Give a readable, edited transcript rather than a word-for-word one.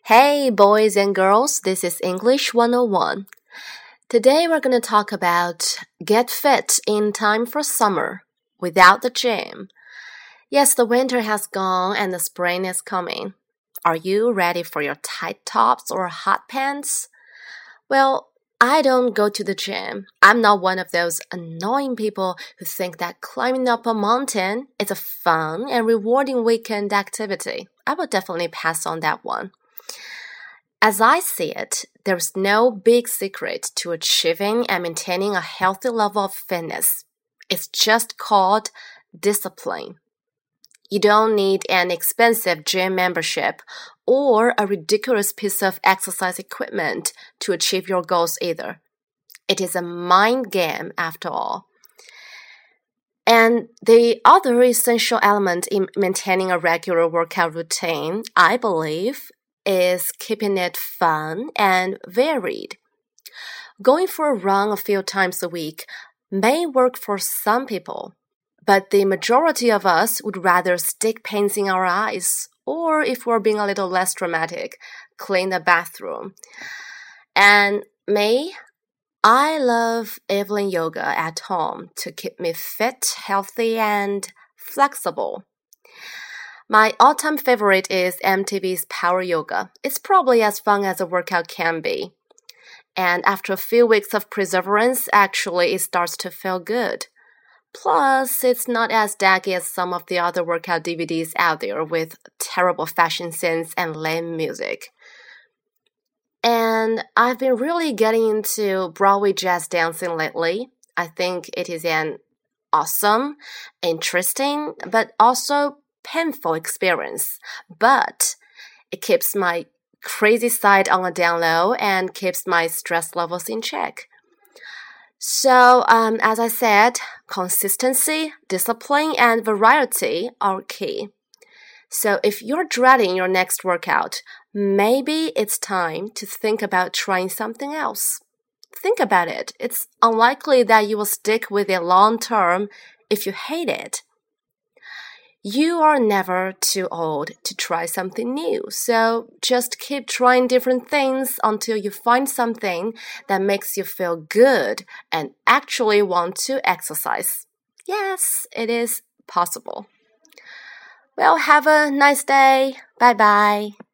Hey, boys and girls, this is English 101. Today we're going to talk about get fit in time for summer without the gym. Yes, the winter has gone and the spring is coming. Are you ready for your tight tops or hot pants? Well, I don't go to the gym. I'm not one of those annoying people who think that climbing up a mountain is a fun and rewarding weekend activity. I will definitely pass on that one.As I see it, there's no big secret to achieving and maintaining a healthy level of fitness. It's just called discipline. You don't need an expensive gym membership or a ridiculous piece of exercise equipment to achieve your goals either. It is a mind game after all. And the other essential element in maintaining a regular workout routine, I believe,is keeping it fun and varied. Going for a run a few times a week may work for some people, but the majority of us would rather stick paints in our eyes, or if we're being a little less dramatic, clean the bathroom. And me, I love Evelyn Yoga at home to keep me fit, healthy, and flexible.My all-time favorite is MTV's Power Yoga. It's probably as fun as a workout can be. And after a few weeks of perseverance, actually it starts to feel good. Plus, it's not as daggy as some of the other workout DVDs out there with terrible fashion sense and lame music. And I've been really getting into Broadway jazz dancing lately. I think it is an awesome, interesting, but also,painful experience, but it keeps my crazy side on a down low and keeps my stress levels in check. So, as I said, consistency, discipline, and variety are key. So if you're dreading your next workout, maybe it's time to think about trying something else. Think about it. It's unlikely that you will stick with it long term if you hate it.You are never too old to try something new, so just keep trying different things until you find something that makes you feel good and actually want to exercise. Yes, it is possible. Well, have a nice day. Bye-bye.